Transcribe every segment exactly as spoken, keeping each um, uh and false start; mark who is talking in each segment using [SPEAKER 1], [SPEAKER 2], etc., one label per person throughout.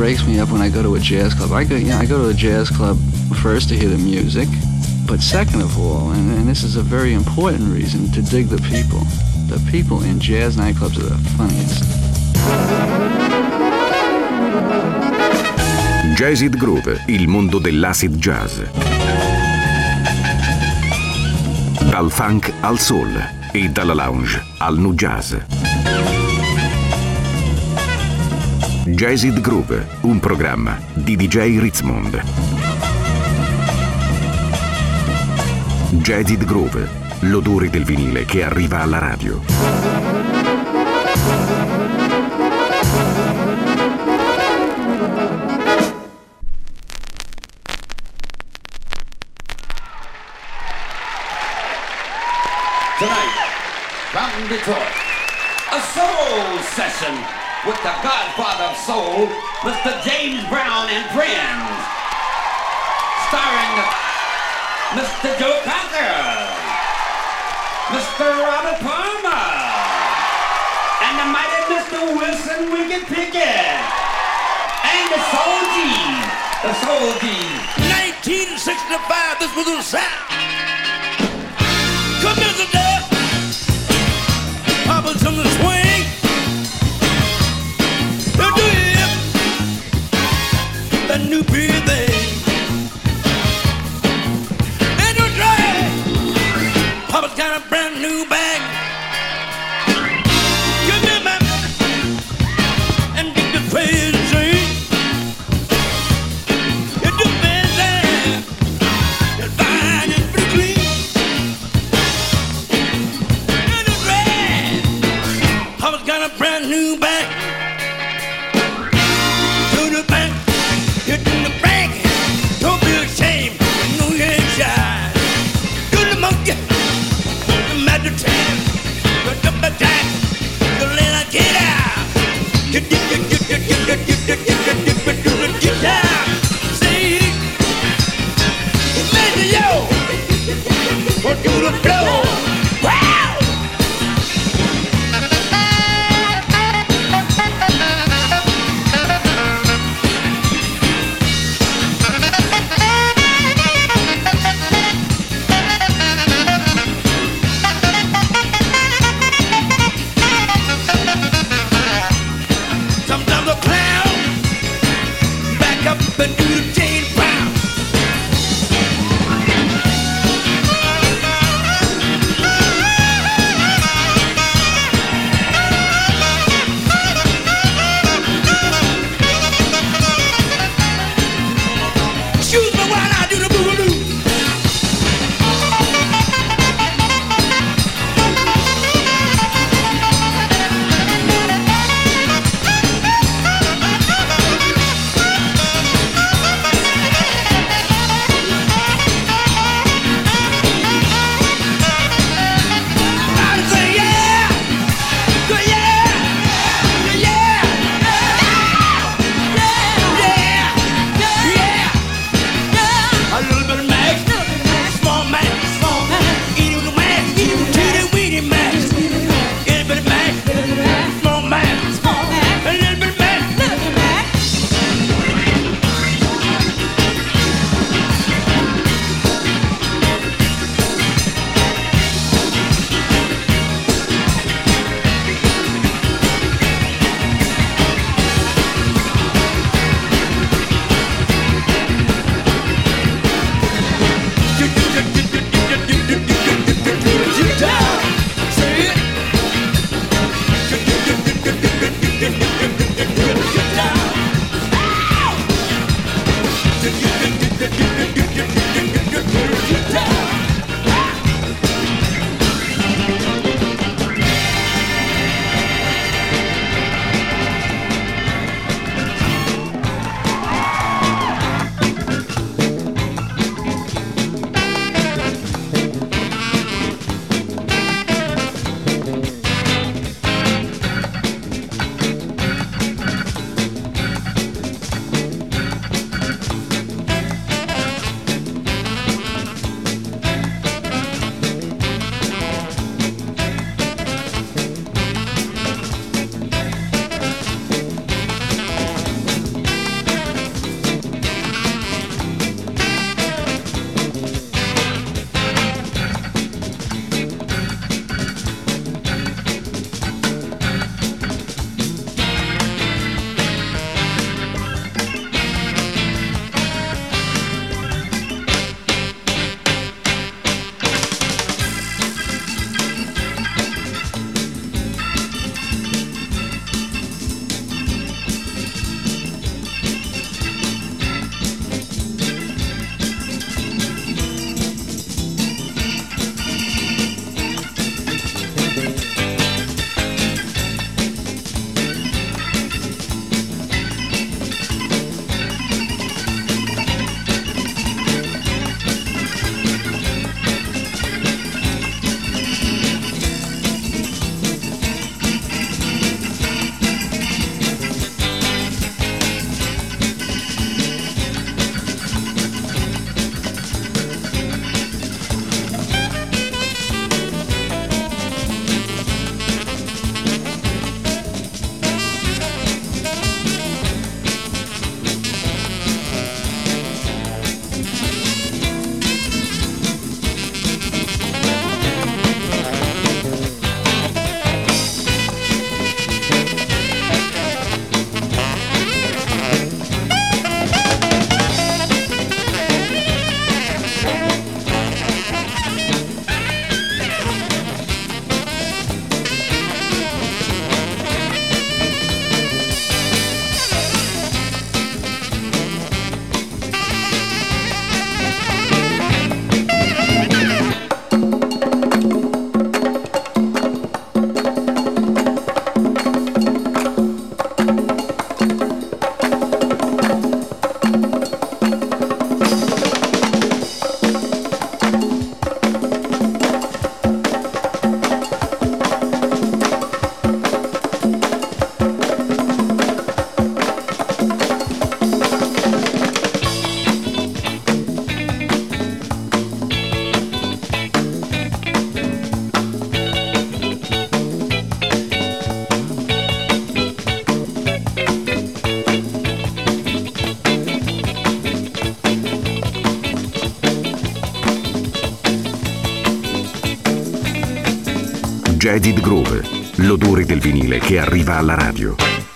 [SPEAKER 1] breaks me up when I go to a jazz club. I go, you know, I go to a jazz club first to hear the music, but second of all, and, and this is a very important reason, to dig the people. The people in jazz nightclubs are the funniest.
[SPEAKER 2] Jazzid Groove, il mondo dell'acid jazz. Dal funk al soul e dalla lounge al nu jazz. Jazzid Groove, un programma di D J Ritzmond. Jazzid Groove, l'odore del vinile che arriva alla radio.
[SPEAKER 3] Tonight, from Detroit, a soul session with the godfather of soul, Mister James Brown and Friends, starring Mister Joe Cocker, Mister Robert Palmer, and the mighty Mister Wilson Wicked Pickett, and the Soul G's, the Soul G's.
[SPEAKER 4] nineteen sixty-five, this was the sound. Come here today, Papa's on the swing. Do you that new beat thing? And you try. Papa's got a brand new bag. Give me my and dig the crazy. It's the best thing. It's fine and pretty clean. Got a brand new bag. To the bank, get in the bank. Don't be ashamed, you know you ain't shy. To the monkey, the magic time. The double jack, the little get out. Get, get, get, get, get, get, get, get, get, get, get, get, get, get down. See, imagine yo, go to the floor. Wow!
[SPEAKER 2] Jazzy Groove, l'odore del vinile che arriva alla radio.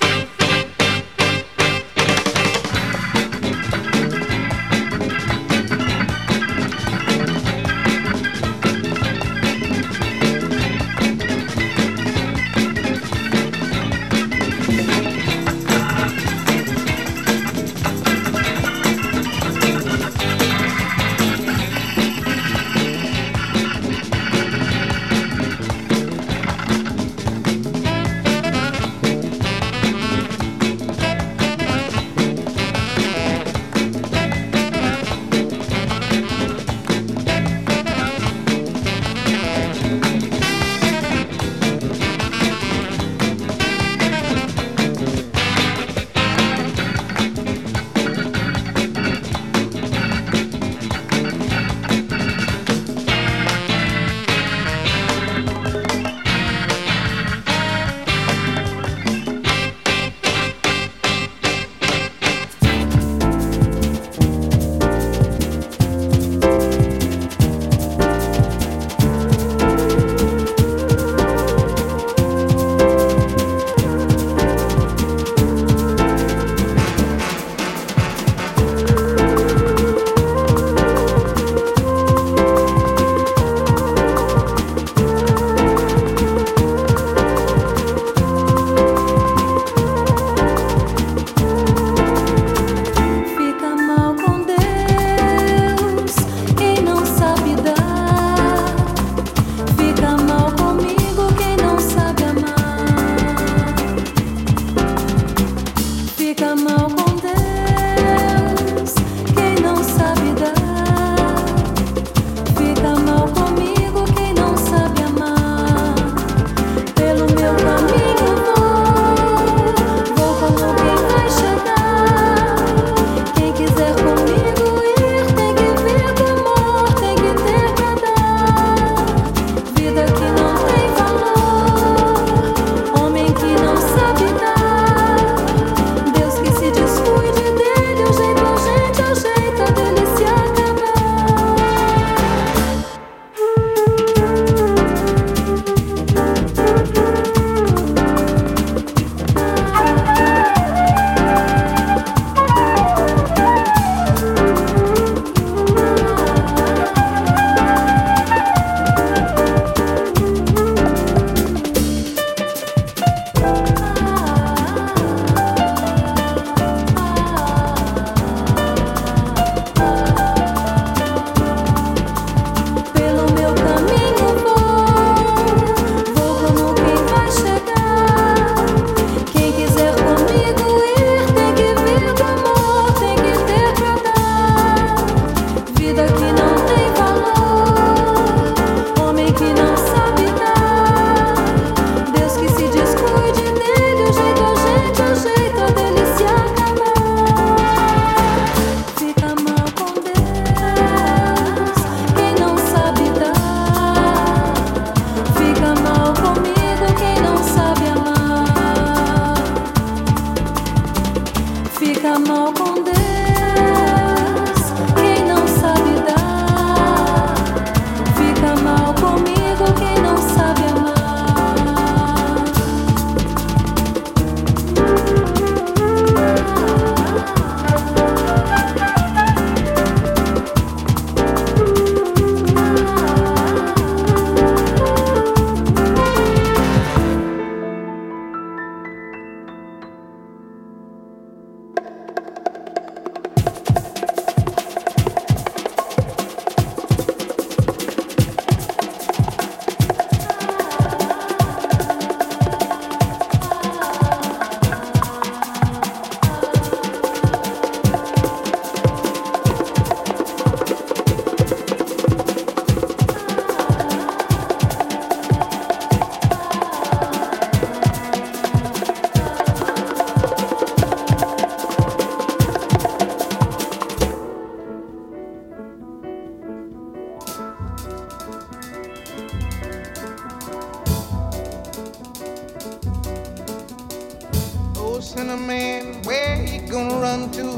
[SPEAKER 5] Cinnamon, where you gonna run to?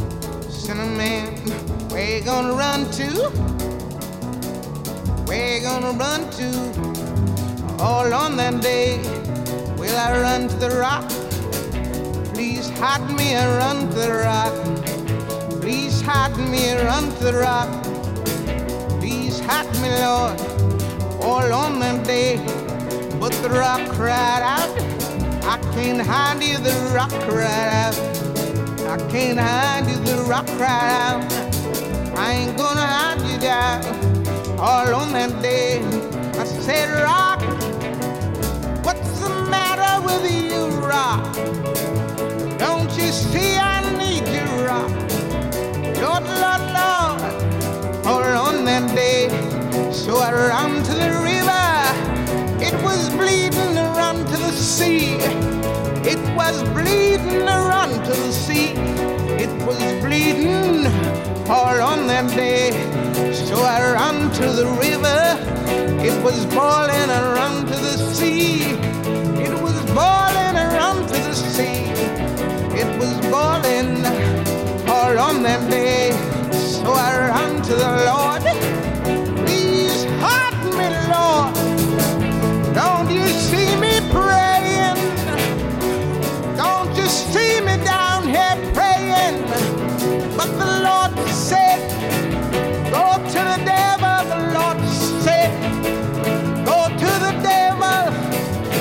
[SPEAKER 5] Cinnamon, where you gonna run to? Where you gonna run to? All on that day will I run to the rock. Please hide me and run to the rock. Please hide me and run to the rock. Please hide me, Lord, all on that day. But the rock cried out, I can't hide you, the rock cried out. I can't hide you, the rock cried out. I ain't gonna hide you down. All on that day, I said, rock, what's the matter with you, rock? Don't you see I need you, rock? Lord, Lord, Lord, all on that day. So I ran to the river, it was bleeding to run to the sea. It was bleeding to run to the sea. It was bleeding all on that day. So I ran to the river, it was boiling and run to the sea. It was boiling and run to the sea. It was boiling all on that day. So I ran to the Lord. Please hide me, Lord. Don't you see me praying? Don't you see me down here praying? But the Lord said, go to the devil. The Lord said, go to the devil.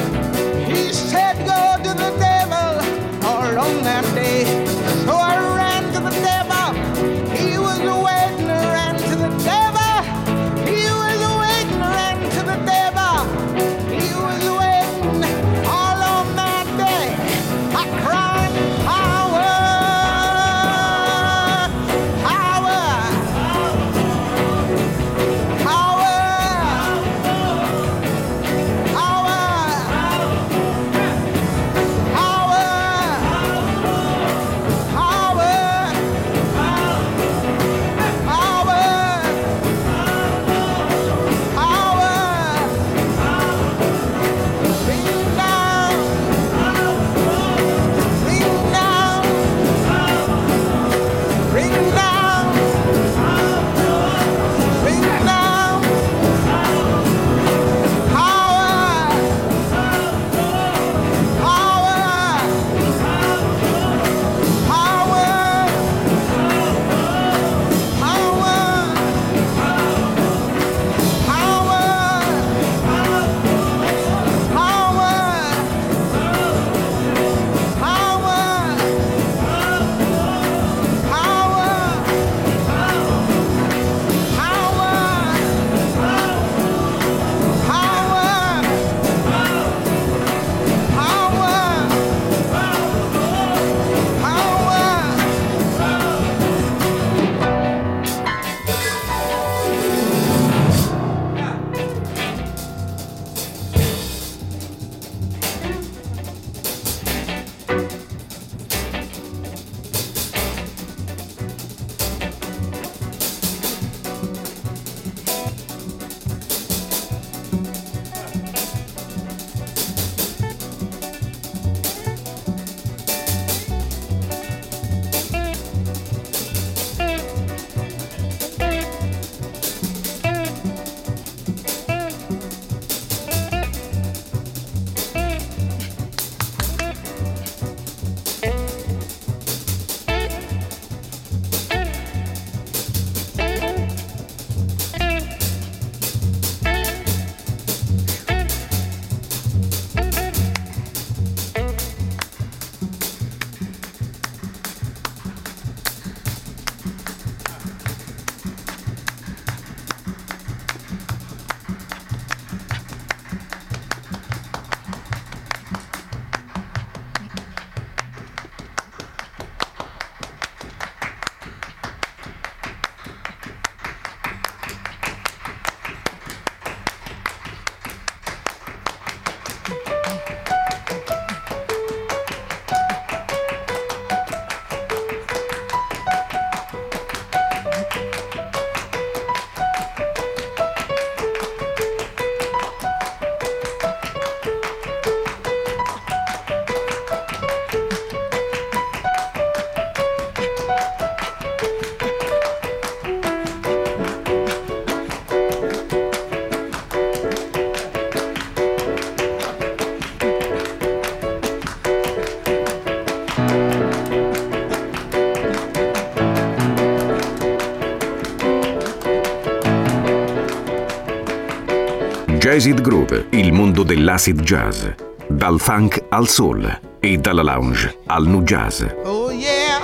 [SPEAKER 2] Jazzed Groove, il mondo dell'acid jazz. Dal funk al soul e dalla lounge al nu jazz.
[SPEAKER 5] Oh yeah.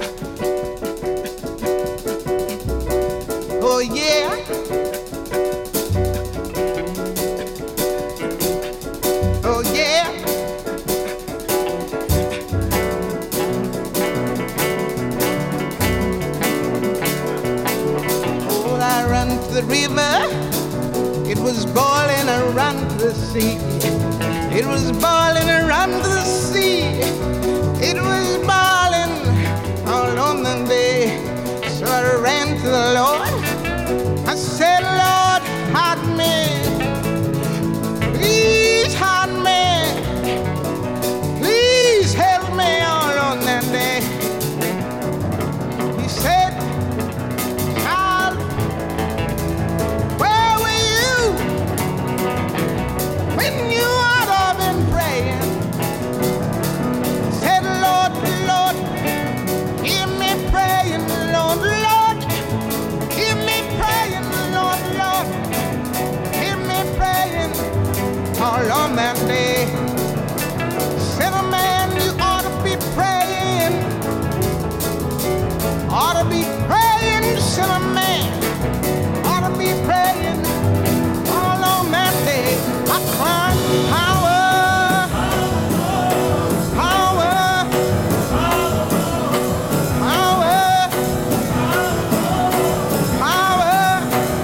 [SPEAKER 5] Oh yeah. Oh yeah. Oh, I run to the river. It was boiling around the sea. It was boiling around the sea. It was boiling all on the day. So I ran to the Lord. I said, Lord, hide me. Please hide me. Please help me all on that day. He said, child, where were you when you ought to have been praying? Said, Lord, Lord, hear me praying, Lord, Lord, hear me praying, Lord, Lord, hear me praying all on that day. Said, a man, you ought to be praying, ought to be praying, said a man, ought to be praying all on that day. I cried, power, power, power, power,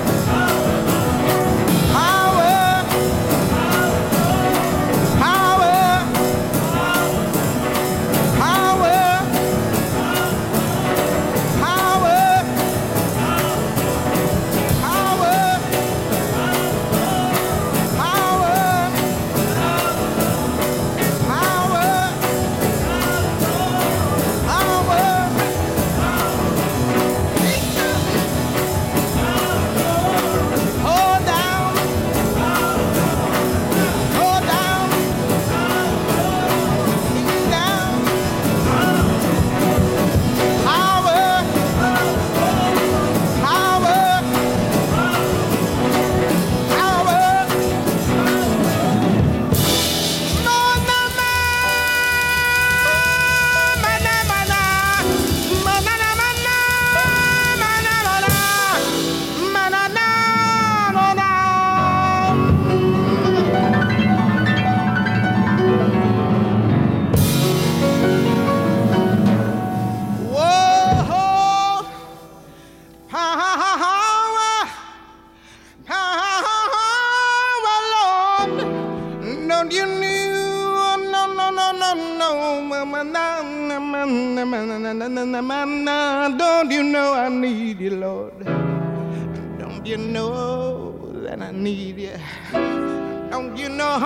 [SPEAKER 5] Don't you know I need you, Lord? Don't you know that I need you? Don't you know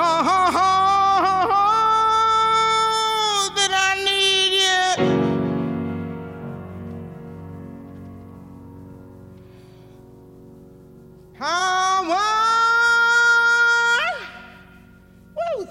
[SPEAKER 5] that I need you? Power, woo,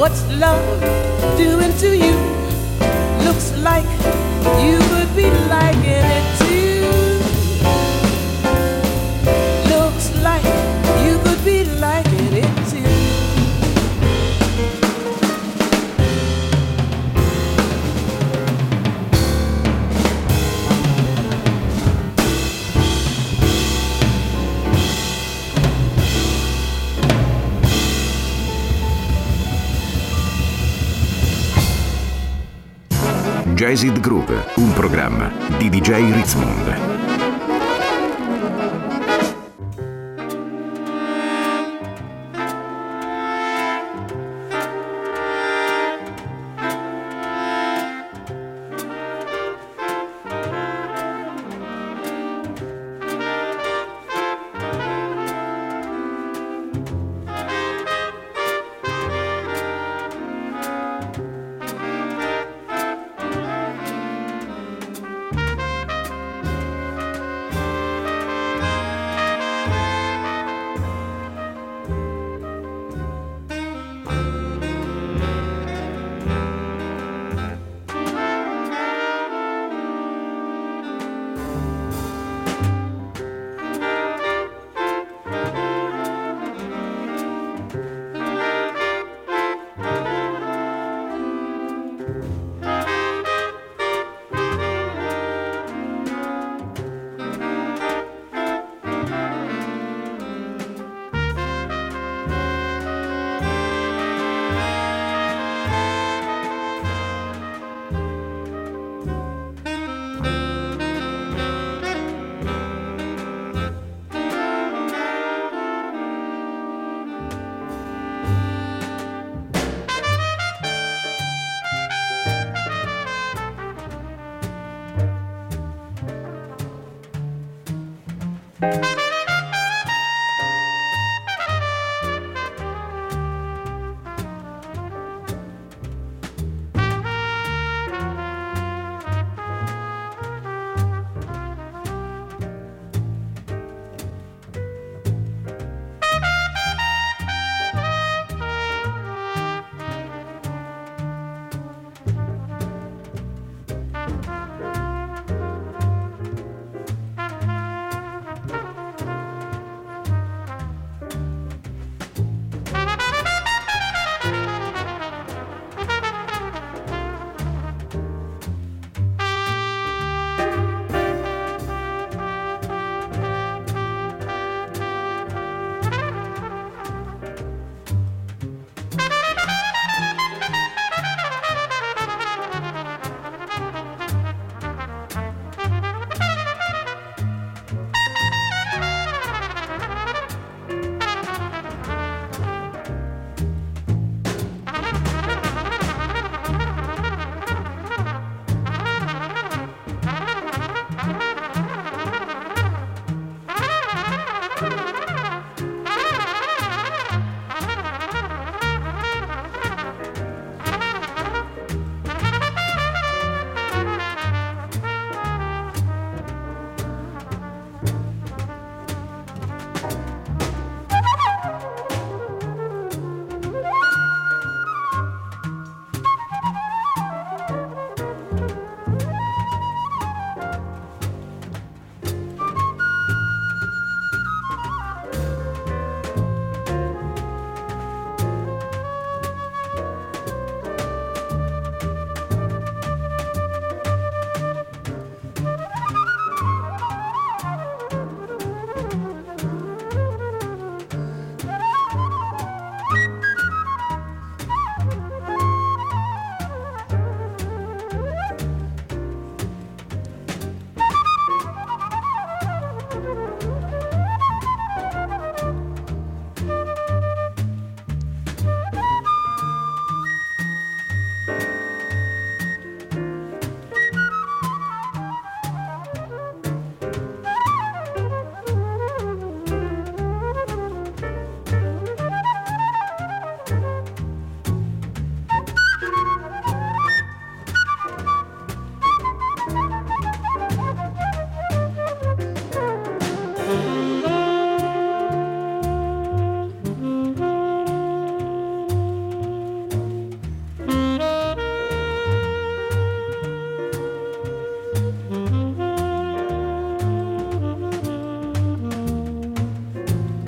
[SPEAKER 6] What's love doing to you? Looks like you could be liking it too. Looks like you could be liking it too.
[SPEAKER 2] Jazzed Groove, un programma di D J Ritzmond.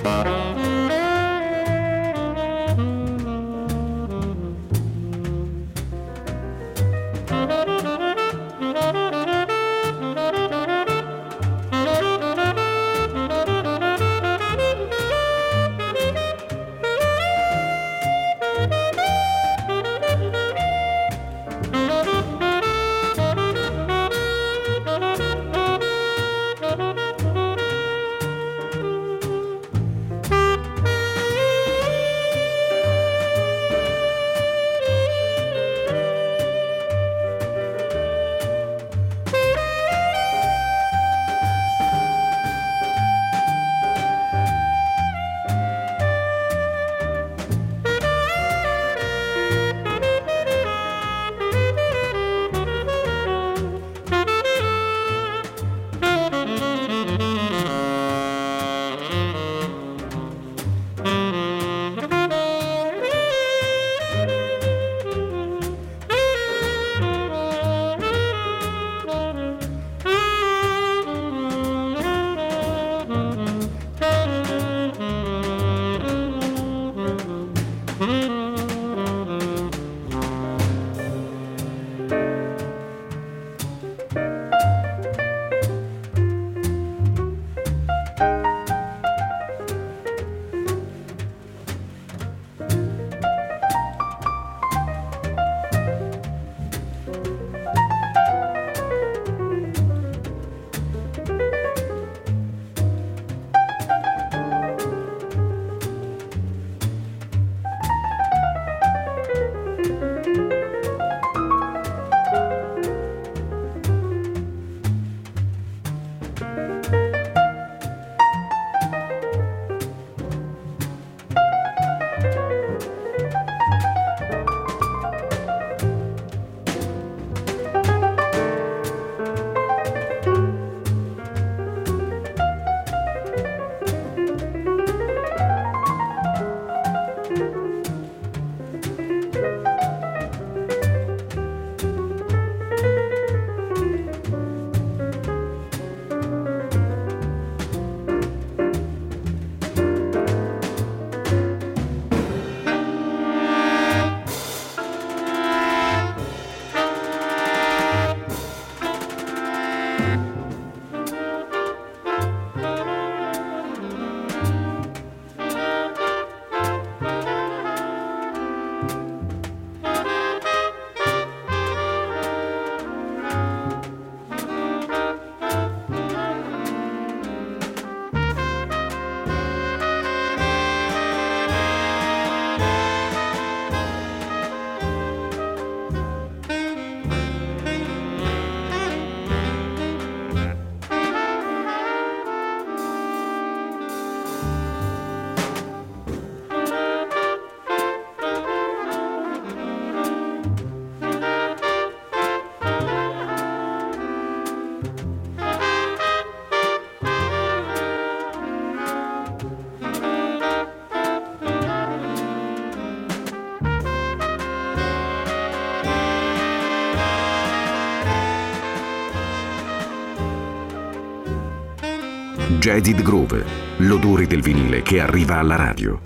[SPEAKER 2] Jaded Groove, l'odore del vinile che arriva alla radio.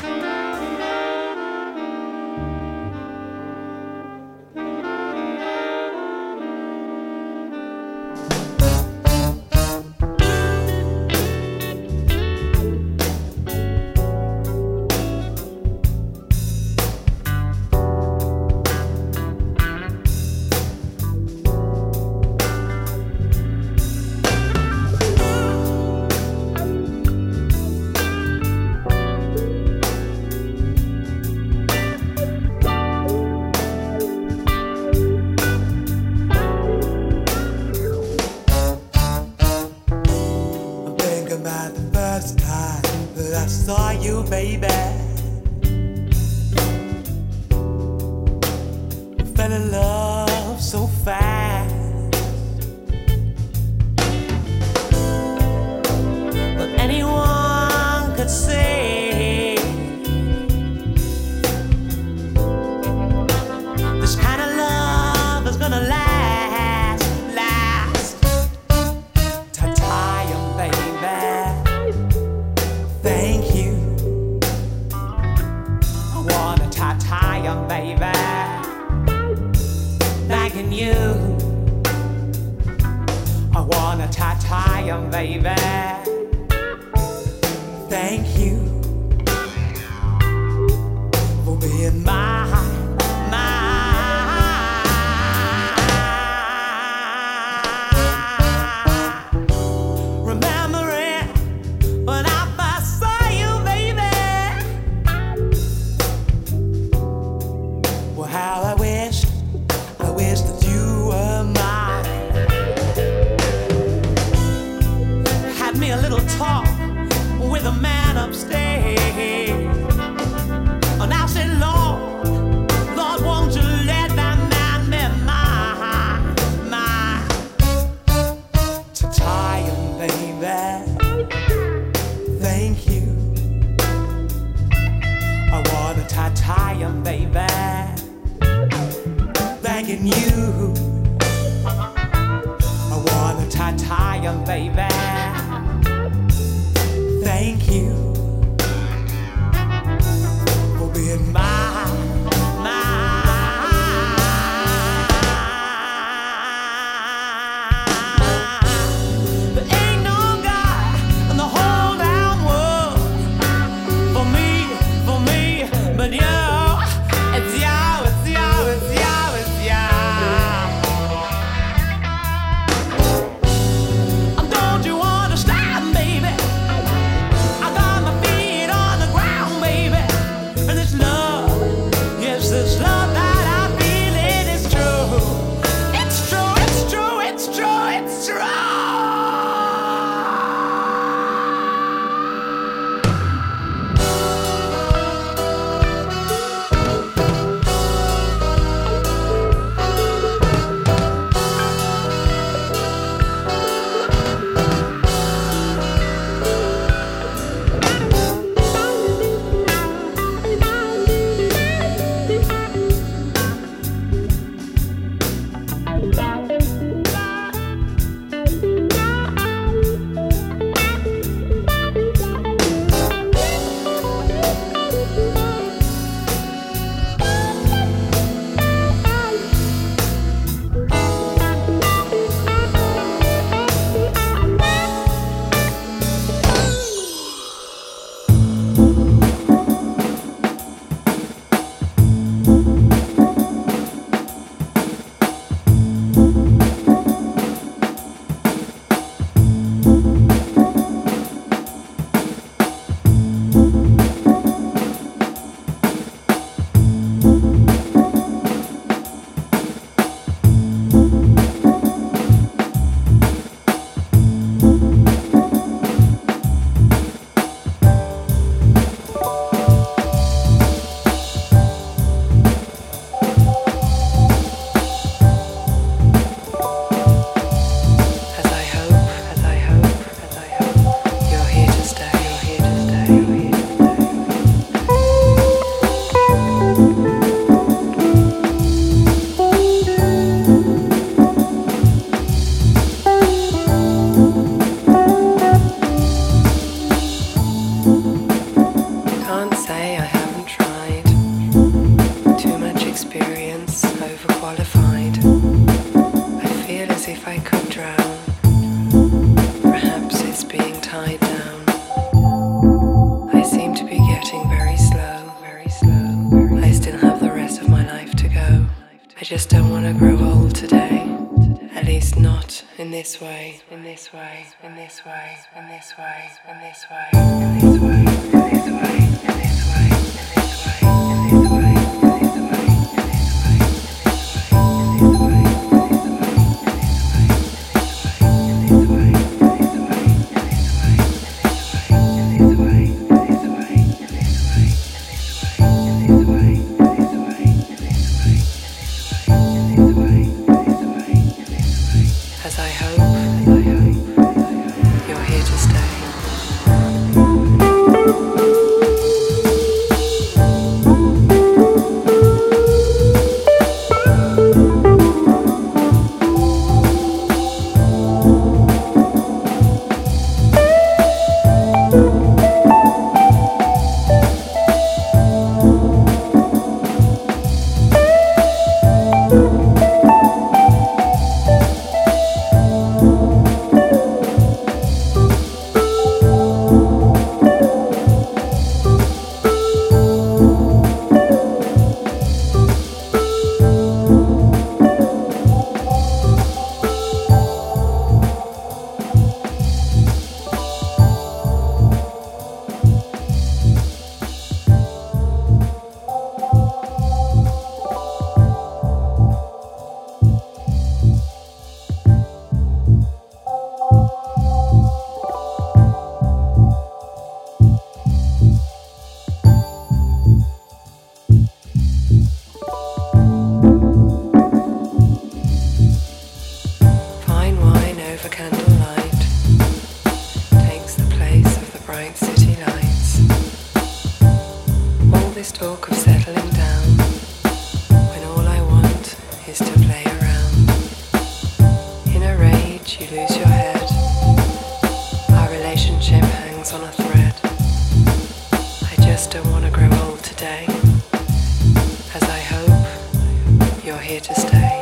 [SPEAKER 7] Thank you. baby. Thank you for being my, my. Remembering when I first saw you, baby. Well, how I wished, I wish that you were mine. Had me a little talk with a man upstairs. Oh, now say, Lord, Lord, won't you let that man be mine, mine? To tie him, baby. Thank you. I wanna tie, tie him, baby. Thanking you. I wanna tie, tie him, baby. Thank you for being mine, mine. There ain't no God in the whole damn world for me, for me, but you. It's you, it's you, it's you, it's you. Don't you understand, baby? I got my feet on the ground, baby. And this love, yes, this love that I feel, it is true. It's true, it's true, it's true, it's true.
[SPEAKER 8] Can't say I haven't tried. Too much experience, overqualified. I feel as if I could drown. Perhaps it's being tied down. I seem to be getting very slow, very slow. I still have the rest of my life to go. I just don't want to grow old today. At least not in this way, in this way, in this way, in this way, in this way, in this way, in this way, in this way, in this way, in this way, in this way, in this way. As I hope, as I hope, you're here to stay. this talk of settling down when all I want is to play around. In a rage, you lose your head. Our relationship hangs on a thread. I just don't want to grow old today, as I hope you're here to stay.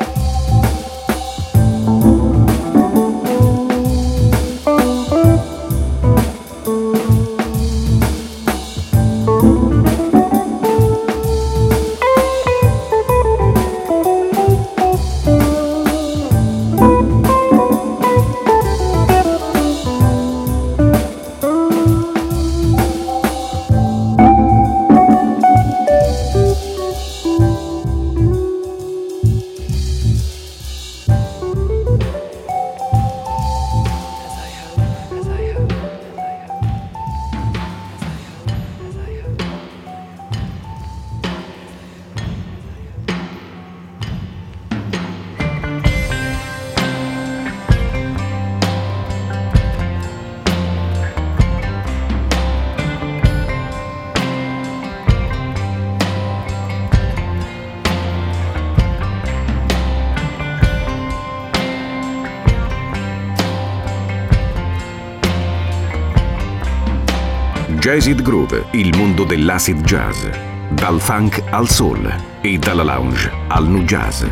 [SPEAKER 2] Jazzid Groove, il mondo dell'acid jazz, dal funk al soul e dalla lounge al nu jazz.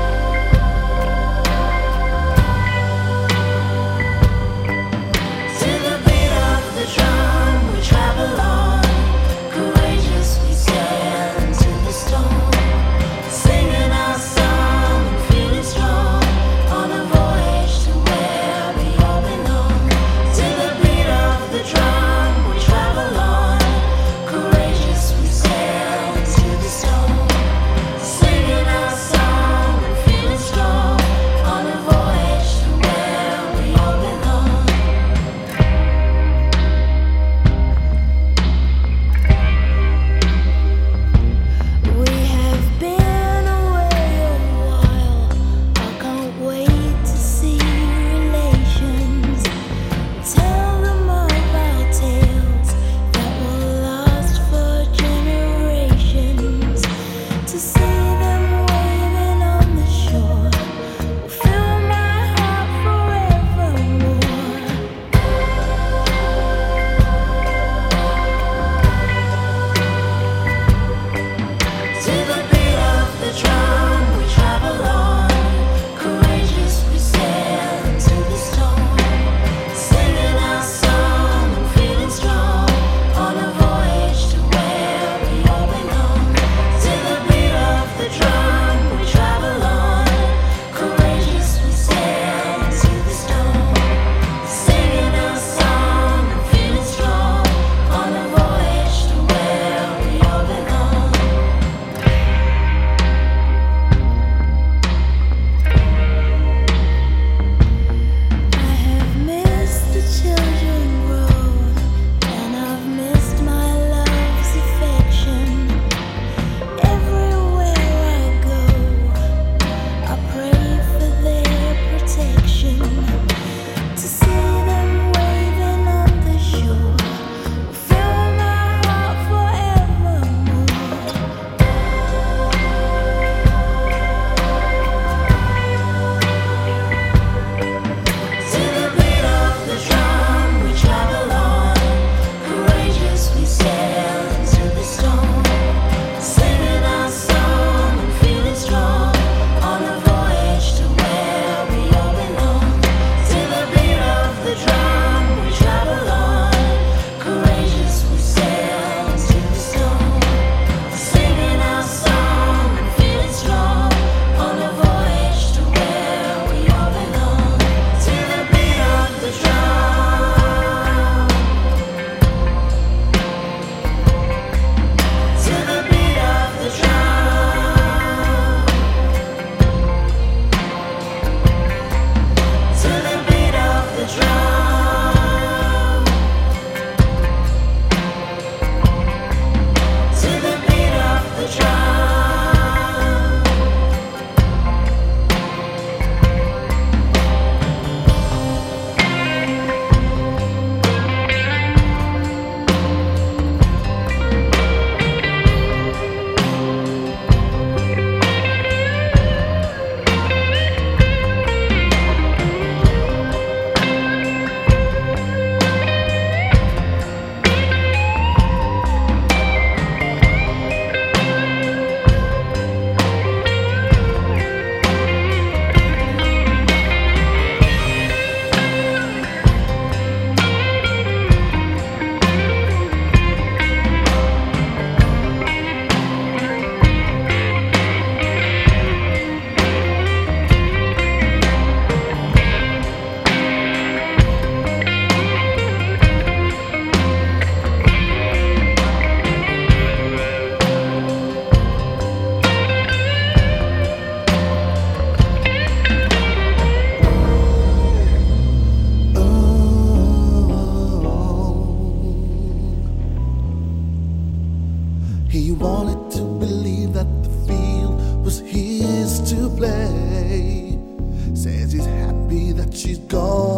[SPEAKER 9] See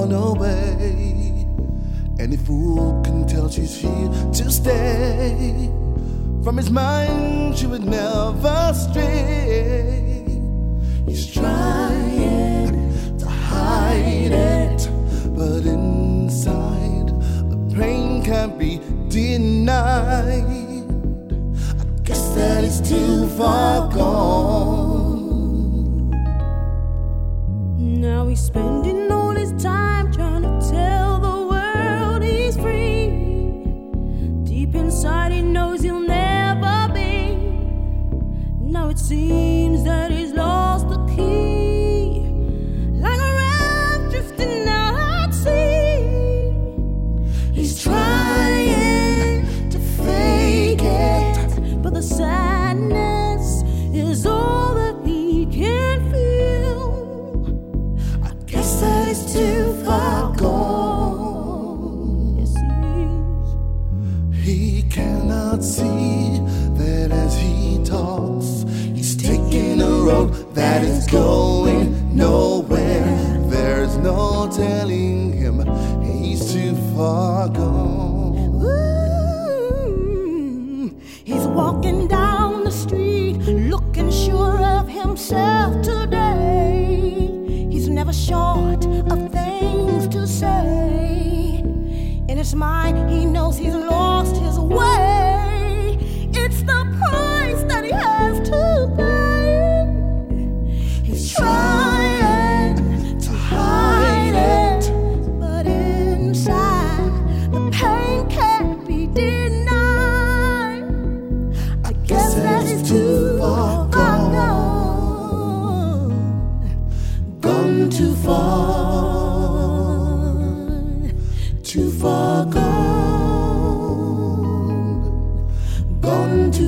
[SPEAKER 9] gone away. Any fool can tell she's here to stay. From his mind she would never stray. He's trying to hide it, but inside the pain can't be denied. I guess that he's too far gone.
[SPEAKER 6] Now he's spending all his time trying to tell the world he's free. Deep inside he knows he'll never be. Now it seems that he's lost the key, like a raft drifting out at sea. He's trying to fake it, but the sadness is all that he can feel. I guess that he's too far gone. Yes, he is.
[SPEAKER 9] He cannot see that as he talks, he's taking a road that is going nowhere. There's no telling him he's too far gone.
[SPEAKER 6] Ooh, he's walking down the street looking sure of himself today. He's never short of things to say. In his mind he knows he's lost his way. It's the price that he has to pay. He's trying to hide it, but inside the pain can't be denied. I guess that is too far gone. Gone too far, too far gone. Gone too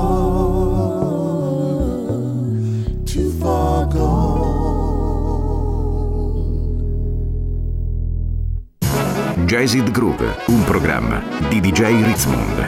[SPEAKER 6] far, too far gone.
[SPEAKER 2] Jazzed Groove, un programma di D J Ritzmond.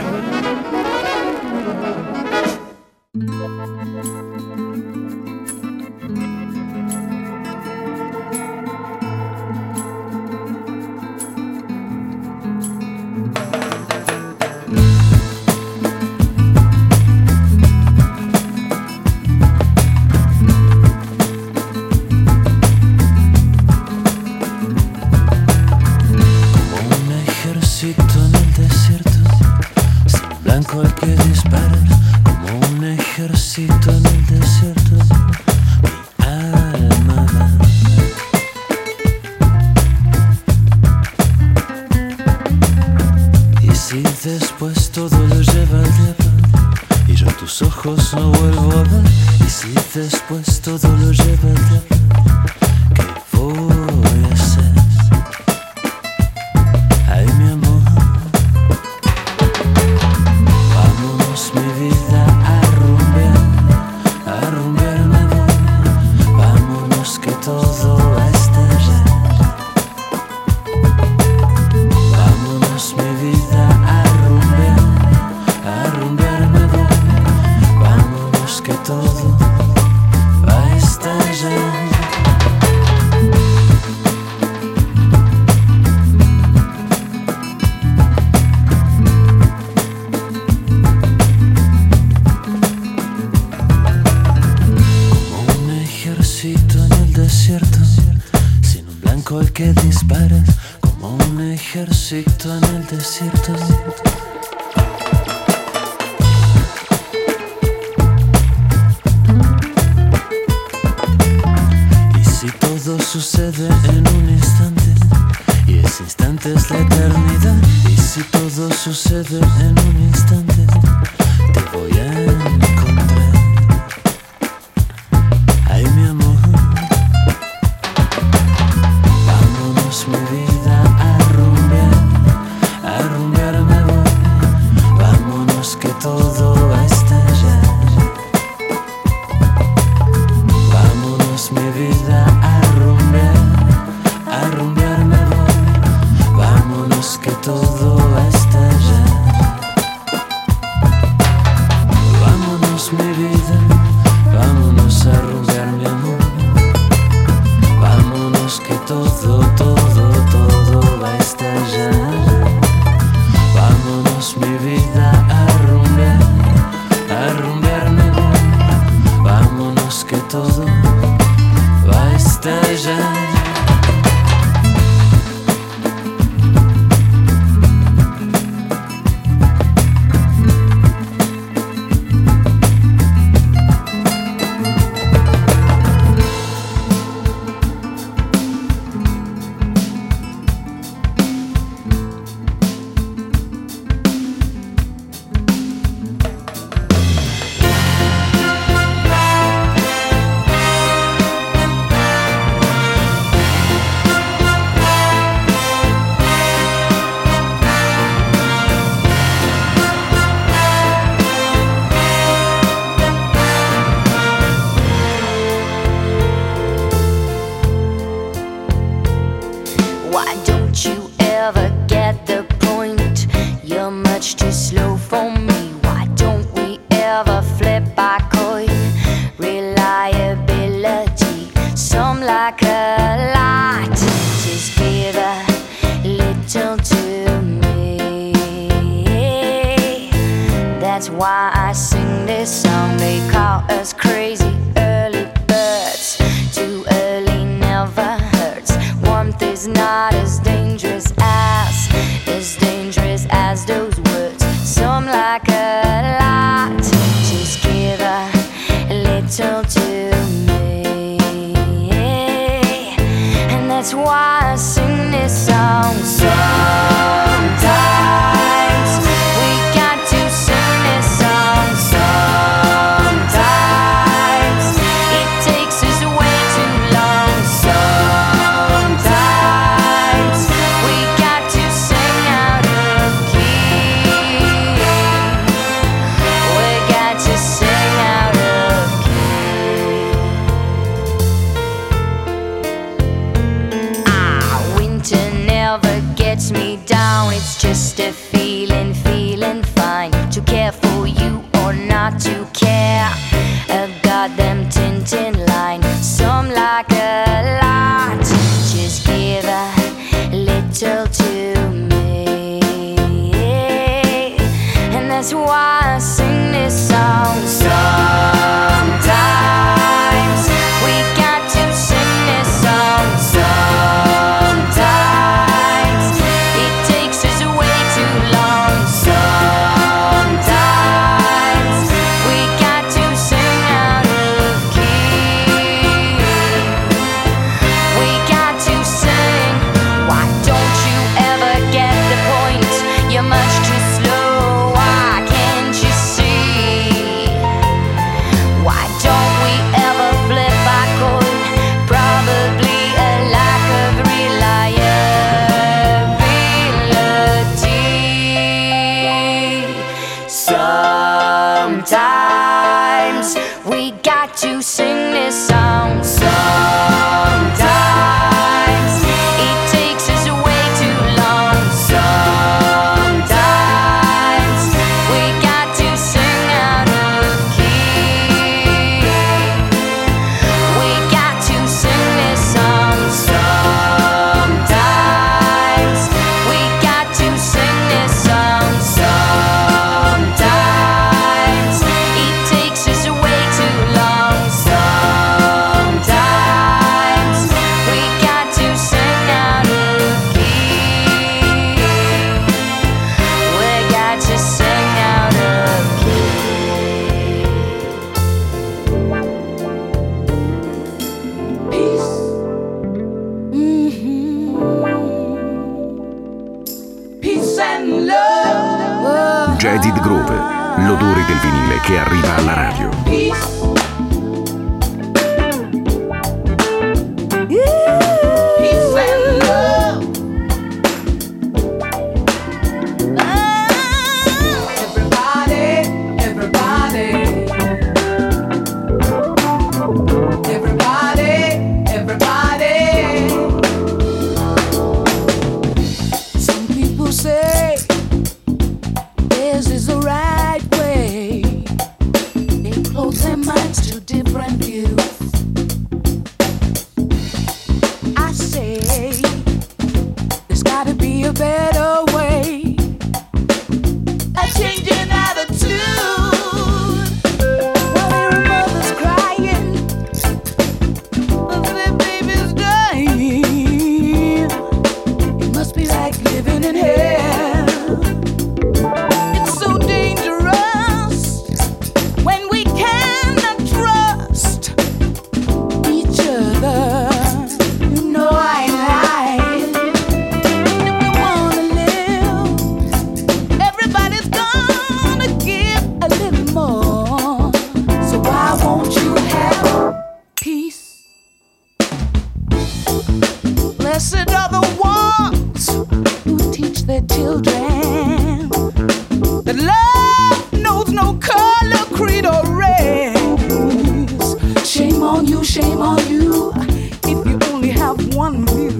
[SPEAKER 10] Vámonos que todo, todo station.
[SPEAKER 2] Jaded Groove, l'odore del vinile che arriva alla radio.
[SPEAKER 6] Close their minds Blessed are the ones who teach their children that love knows no color, creed, or race. Shame on you, shame on you, if you only have one view.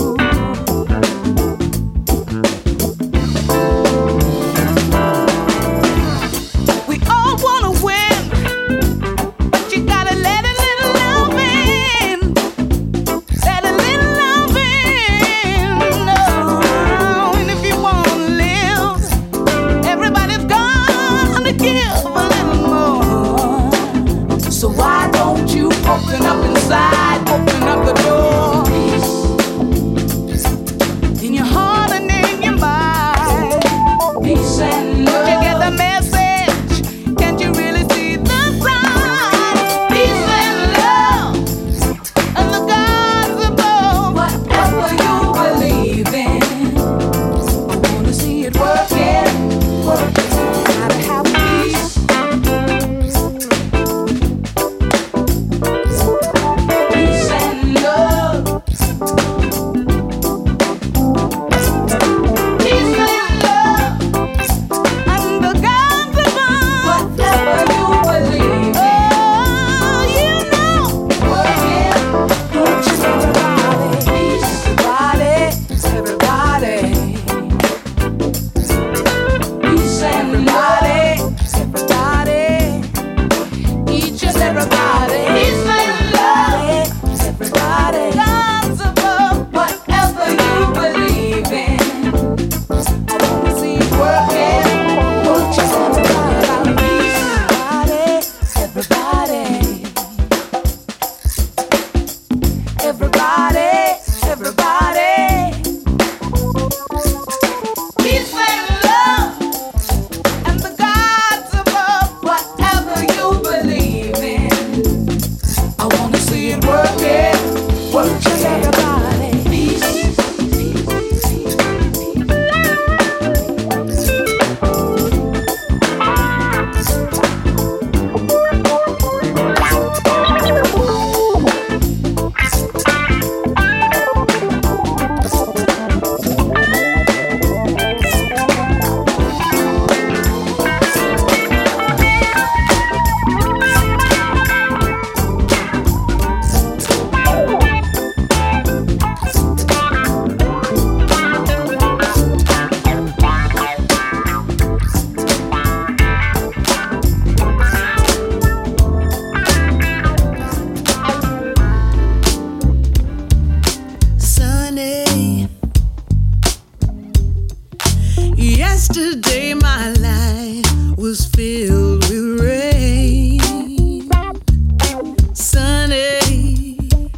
[SPEAKER 6] We all wanna win, but you gotta let a little love in. Let a little love in. No. And if you wanna live, everybody's gonna give a little more. So why don't you open up inside, open up the door in your heart and in your mind. Peace and love. Don't you get the message? Can't you really see the sign? Peace and love and the gods above. Whatever you believe in, I wanna see it working, working. Gotta have peace. Peace and love. Peace and love. And the gods above. Whatever you believe in. Oh, you know. Working. Don't you everybody. Peace. Everybody. Everybody. Peace and everybody. Everybody. Each and everybody. Peace and love. Everybody. Gods above. Whatever you believe in, I wanna see it working. Don't you everybody. Peace. Everybody. Everybody. Everybody. Peace and love. And the gods above, whatever you believe in, I wanna see it working. Work just everybody. Peace. Sunny. Yesterday my life was filled with rain. Sunny,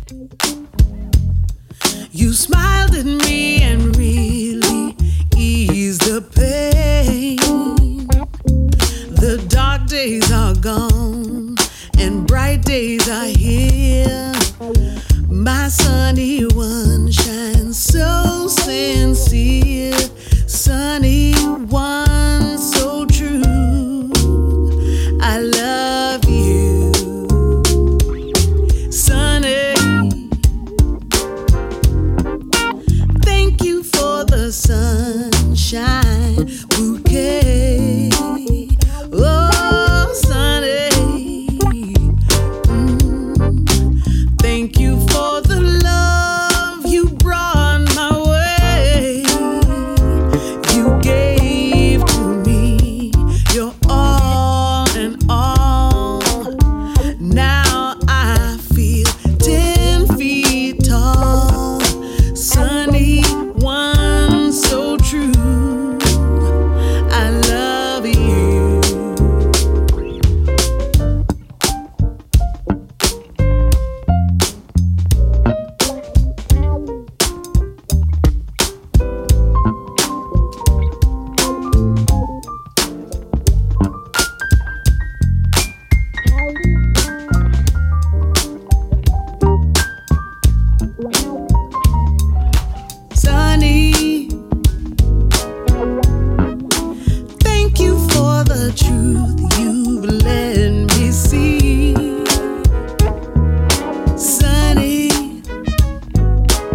[SPEAKER 6] you smiled at me and really eased the pain. The dark days are gone and bright days are here. My sunny one shines so sincere. Sunny one so true. I love you. Sunny, thank you for the sunshine bouquet. Oh, Sunny, mm, thank you for the love you brought my way. You gave to me your all and all. Now I feel ten feet tall. Sunny one so true. I love you. Sunny, thank you for the truth you've let me see. Sunny,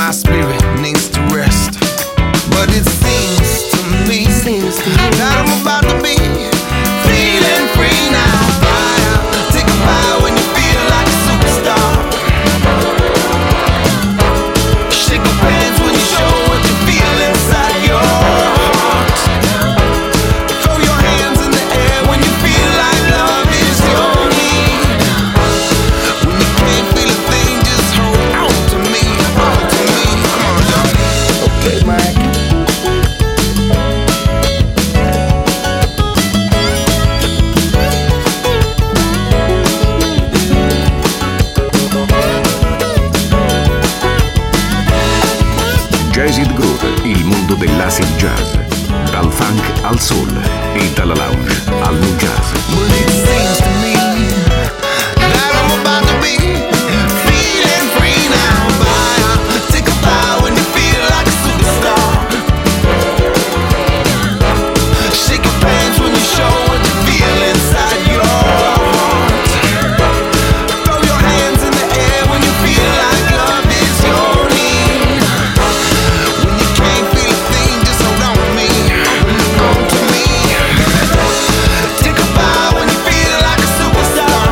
[SPEAKER 9] my spirit needs to rest. But it seems to me that I'm about to be feeling free now. Take a bow when you feel like a superstar. Shake your pants when you show what you feel inside your heart. Throw your hands in the air when you feel like love is your need. When you can't feel a thing, just hold on to me, on to me. Come on, y'all. Okay, Mike.
[SPEAKER 2] Jazzed Groove, il mondo dell'acid jazz, dal funk al soul e dalla lounge al nu jazz.
[SPEAKER 9] But it seems to me that I'm about to be feeling free now. Take a bow when you feel like a superstar. Shake your pants when you show what you feel inside your heart. Throw your hands in the air when you feel like love is your need. When you can't feel a thing, just hold on to me, on to me. Take a bow when you feel like a superstar.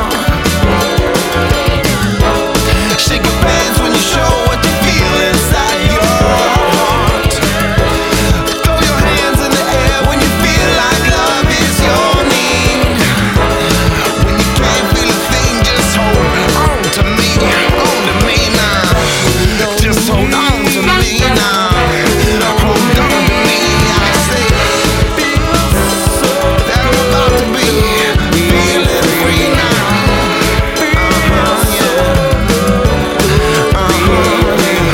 [SPEAKER 9] Shake your pants when you show what you feel inside your heart. Throw your hands in the air when you feel like love is your need. When you can't feel a thing, just hold on to me, on to me now. Just hold on to me now. Hold on to me, I say. That I'm about to be feeling free now. Uh-huh, yeah. Uh-huh,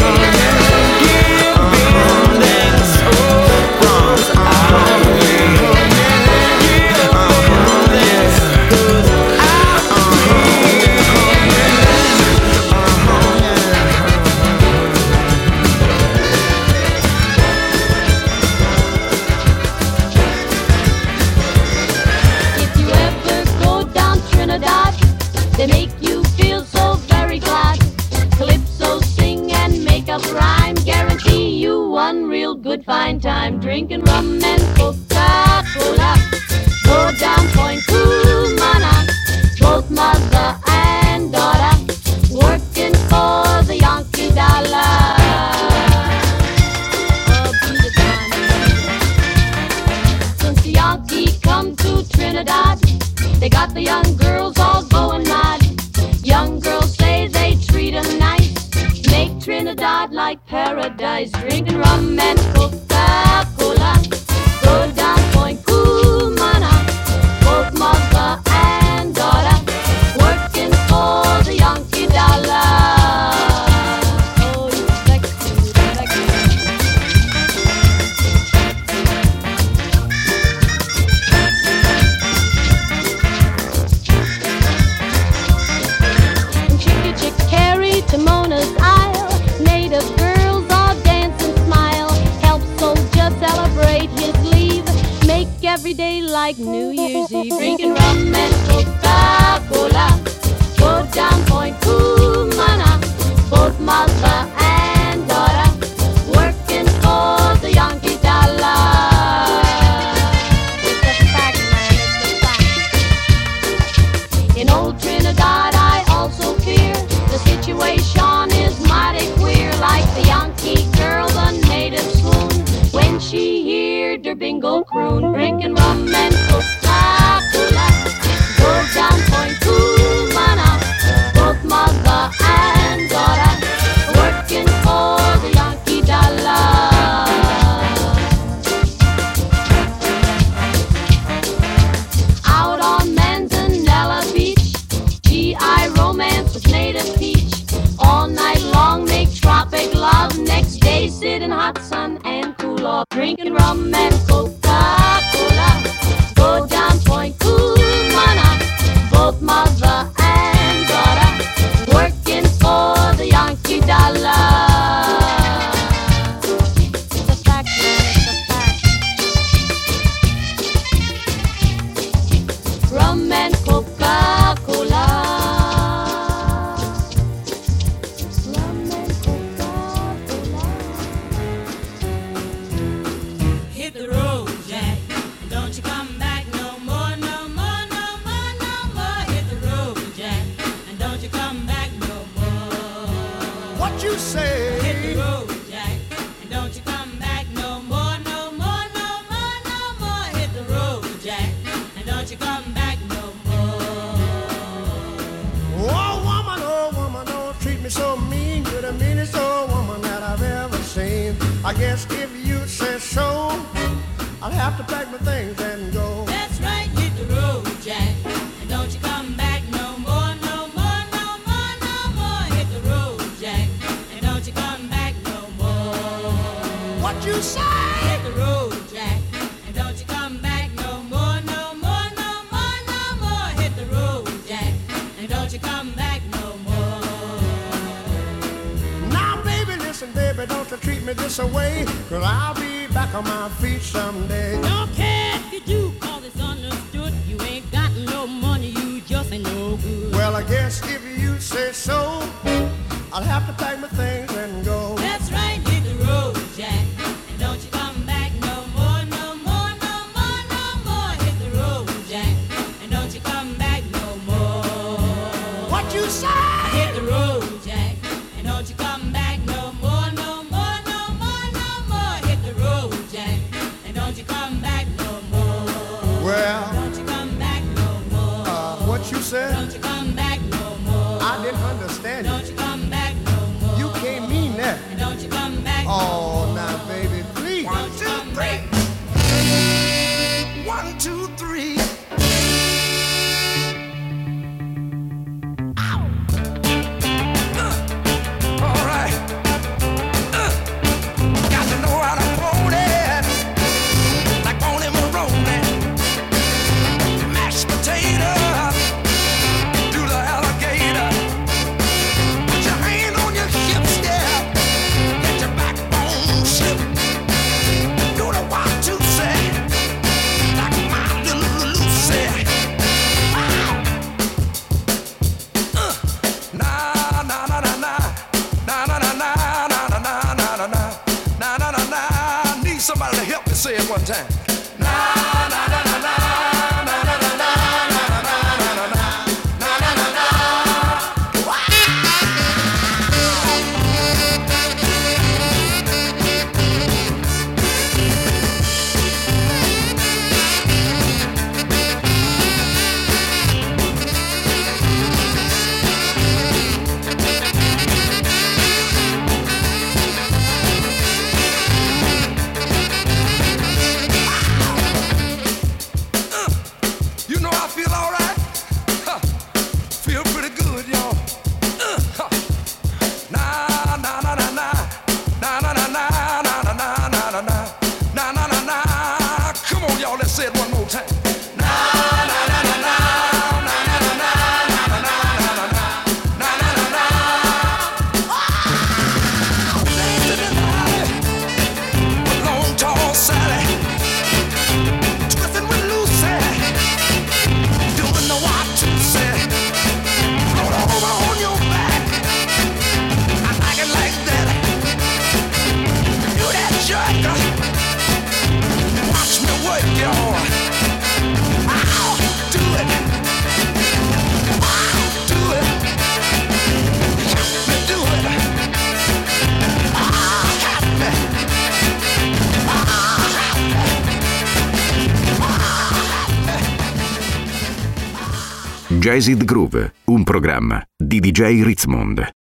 [SPEAKER 10] If you ever go down Trinidad, they make you feel so very glad. Calypso sing and make up rhyme, guarantee you one real good fine time. Drinking rum and Coca-Cola, go down Point Cumana, both mother and daughter, working for the Yankee dollar. Oh, be the time. Since the Yankee come to Trinidad, they got the young girls all going mad. Young girls say they treat 'em nice, make Trinidad like paradise. Drinking rum and Coca-Cola, go down Point Cumana, both mother and daughter, working for the Yankee dollar. Oh, you sexy, sexy. Chicka chick carry to Mona's Isle, native girls all dance and smile, help soldier celebrate his leave, make every day like New Year's Eve. Drinking rum and Coca-Cola, go down Point Cumana, both mother and daughter, working for the Yankee dollar. It's a fact, man, it's a fact. In old Trinidad I also fear the situation is mighty queer, like the Yankee girl, the native swoon when she heard her bingo croon. Drinking rum and Coca-Cola, go down Point Cumana, both mother and daughter, working for the Yankee dollar. Out on Manzanella Beach, G I romance with native peach. All night long make tropic love, next day sit in hot sun and cool off. Drinking rum and Coca-Cola, go down Point Cumana, both mother and daughter, working for the Yankee dollar. It's a fact, man, it's a fact. Rum and Coca-Cola. Rum and Coca-Cola.
[SPEAKER 11] I guess if you say so, I'll have to pack my things and go.
[SPEAKER 7] That's right, hit the road, Jack. And don't you come back no more, no more, no more, no more. Hit the road, Jack. And don't you come back no more.
[SPEAKER 11] What you say?
[SPEAKER 7] Hit the road, Jack. And don't you come back no more, no more, no more, no more. Hit the road, Jack. And don't you come back no more.
[SPEAKER 11] Now, baby, listen, baby, don't you treat me this away, 'cause I'll be back on my feet someday.
[SPEAKER 7] Don't care if you do, 'cause it's understood. You ain't got no money, you just ain't no good.
[SPEAKER 11] Well, I guess if you say so, I'll have to pack my things and go.
[SPEAKER 7] That's right, hit the road, Jack. And don't you come back no more, no more, no more, no more. Hit the road, Jack. And don't you come back no more.
[SPEAKER 11] What you say?
[SPEAKER 7] Hit the road, Jack. And don't you come back no more, no more, no more, no more. Hit the road, Jack. And don't you come back no more.
[SPEAKER 11] Well,
[SPEAKER 7] don't you come back no more.
[SPEAKER 11] Uh, what you said?
[SPEAKER 7] Don't you come back no more.
[SPEAKER 11] I didn't understand
[SPEAKER 7] Don't
[SPEAKER 11] you.
[SPEAKER 7] you come back no more.
[SPEAKER 11] You can't mean that.
[SPEAKER 7] And don't you come back
[SPEAKER 11] Oh,
[SPEAKER 7] no more.
[SPEAKER 11] now, baby, please.
[SPEAKER 7] One, two, three.
[SPEAKER 11] One, two, three.
[SPEAKER 4] All right. Uh, got to know how to hold it, like on him rolling. Mashed potato, do the alligator. Put your hand on your hips, yeah. Let your backbone slip. Do the one, two, say, like my little Lucy. Wow. Uh, nah, nah, nah, nah, nah. Na na na na na na na na na na na na na. Need somebody to help me say it one time. Na na na na na na na na na na na na na na. You know I feel all right. Huh. Feel pretty good, y'all. Uh, huh. Na na na na na na na na na na na na na na na na na na. Come on, y'all. Let's say it one more time. Na na na na na na na na na na na na na na na. Dancing in the alley with Long Tall Sally, twisting with Lucy. Doing the what to say. Roll over on your back. I like it like that. Do that jerk. Watch me work, y'all. I'll do it. I'll do it. Help me do it. Ah, help me. Ah, help me.
[SPEAKER 2] Jazzed Groove, un programma di D J Ritzmond.